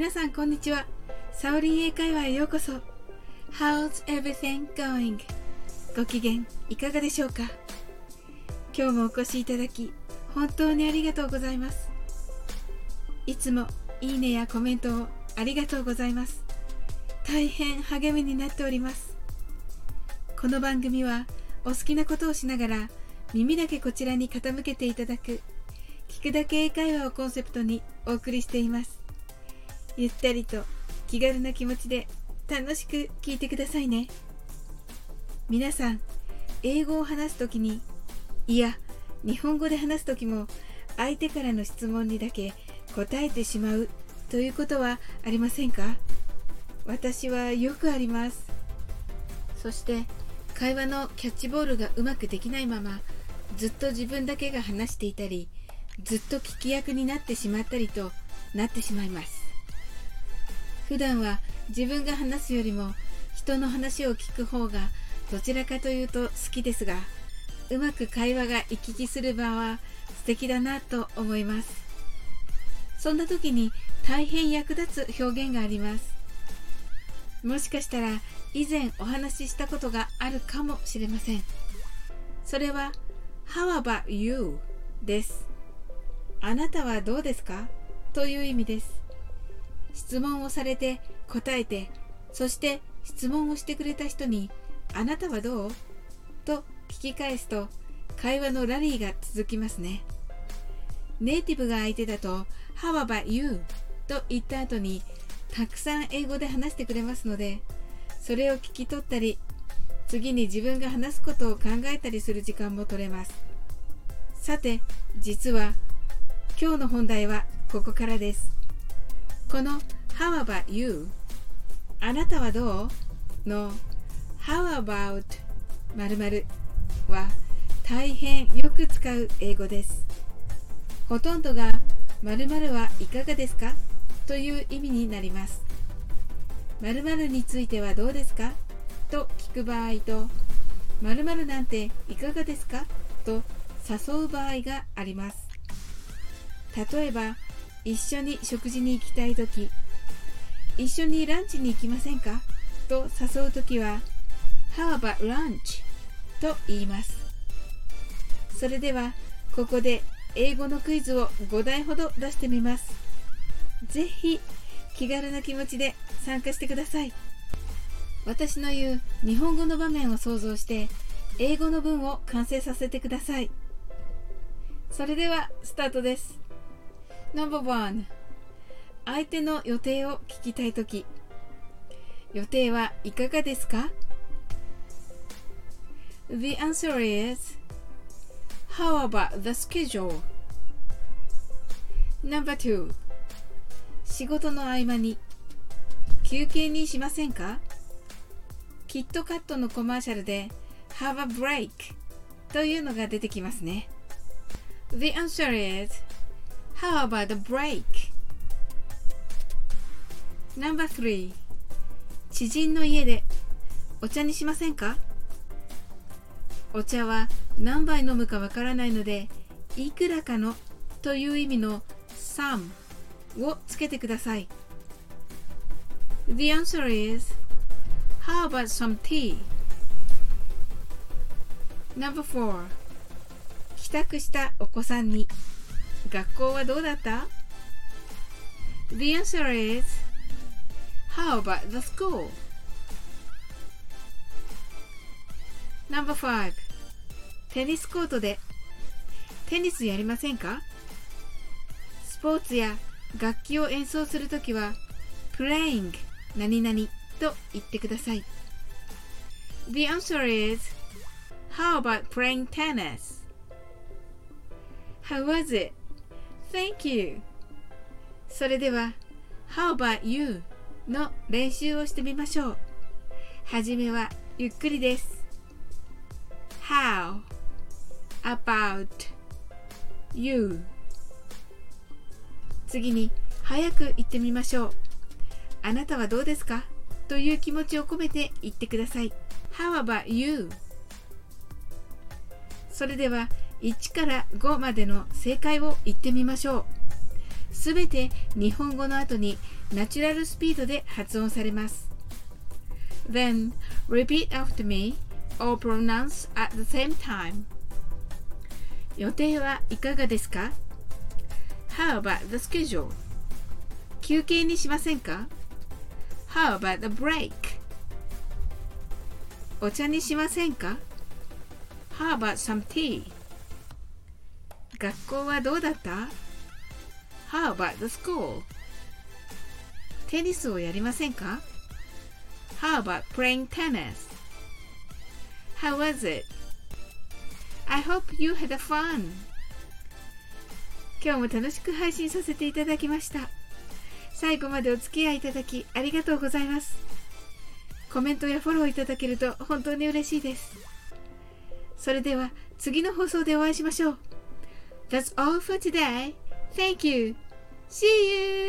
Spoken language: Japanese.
皆さんこんにちは。サオリン英会話へようこそ。How's everything going? ご機嫌いかがでしょうか。今日もお越しいただき本当にありがとうございます。いつもいいねやコメントをありがとうございます。大変励みになっております。この番組はお好きなことをしながら耳だけこちらに傾けていただく聞くだけ英会話をコンセプトにお送りしています。ゆったりと気軽な気持ちで楽しく聞いてくださいね。皆さん、英語を話すときに、いや、日本語で話すときも相手からの質問にだけ答えてしまうということはありませんか？私はよくあります。そして会話のキャッチボールがうまくできないままずっと自分だけが話していたり、ずっと聞き役になってしまったりとなってしまいます。普段は自分が話すよりも人の話を聞く方がどちらかというと好きですが、うまく会話が行き来する場は素敵だなと思います。そんな時に大変役立つ表現があります。もしかしたら以前お話ししたことがあるかもしれません。それは How about you? です。あなたはどうですか？という意味です。質問をされて答えて、そして質問をしてくれた人にあなたはどう？と聞き返すと会話のラリーが続きますね。ネイティブが相手だと How about you? と言った後にたくさん英語で話してくれますので、それを聞き取ったり、次に自分が話すことを考えたりする時間も取れます。さて、実は今日の本題はここからです。この How about you? あなたはどう？の How about 〇〇は大変よく使う英語です。ほとんどが〇〇はいかがですか？という意味になります。〇〇についてはどうですか？と聞く場合と、〇〇なんていかがですか？と誘う場合があります。例えば、一緒に食事に行きたいとき、一緒にランチに行きませんか？と誘うときは、How about lunch? と言います。それでは、ここで英語のクイズを5題ほど出してみます。ぜひ、気軽な気持ちで参加してください。私の言う日本語の場面を想像して、英語の文を完成させてください。それでは、スタートです。No.1 相手の予定を聞きたいとき、予定はいかがですか？ The answer is How about the schedule? No.2 仕事の合間に休憩にしませんか？キットカットのコマーシャルで Have a break というのが出てきますね。The answer is How about the break? No.3 知人の家でお茶にしませんか？お茶は何杯飲むかわからないので、いくらかのという意味の some をつけてください。The answer is How about some tea? No.4 帰宅したお子さんに学校はどうだった？ The answer is How about the school? No.5 テニスコートでテニスやりませんか？スポーツや楽器を演奏するときは Playing 何々と言ってください。The answer is How about playing tennis? How was it? Thank you. それでは How about you? の練習をしてみましょう。はじめはゆっくりです。How about you? 次に早く言ってみましょう。あなたはどうですか？という気持ちを込めて言ってください。How about you? それでは1から5までの正解を言ってみましょう。 すべて日本語の後にナチュラルスピードで発音されます。Then, repeat after me or pronounce at the same time. 予定はいかがですか？ How about the schedule? 休憩にしませんか？ How about the break? お茶にしませんか？ How about some tea? 学校はどうだった？ How about the school? テニスをやりませんか？ How about playing tennis? How was it? I hope you had fun. 今日も楽しく配信させていただきました。最後までお付き合いいただきありがとうございます。コメントやフォローいただけると本当に嬉しいです。それでは次の放送でお会いしましょう。That's all for today. Thank you. See you.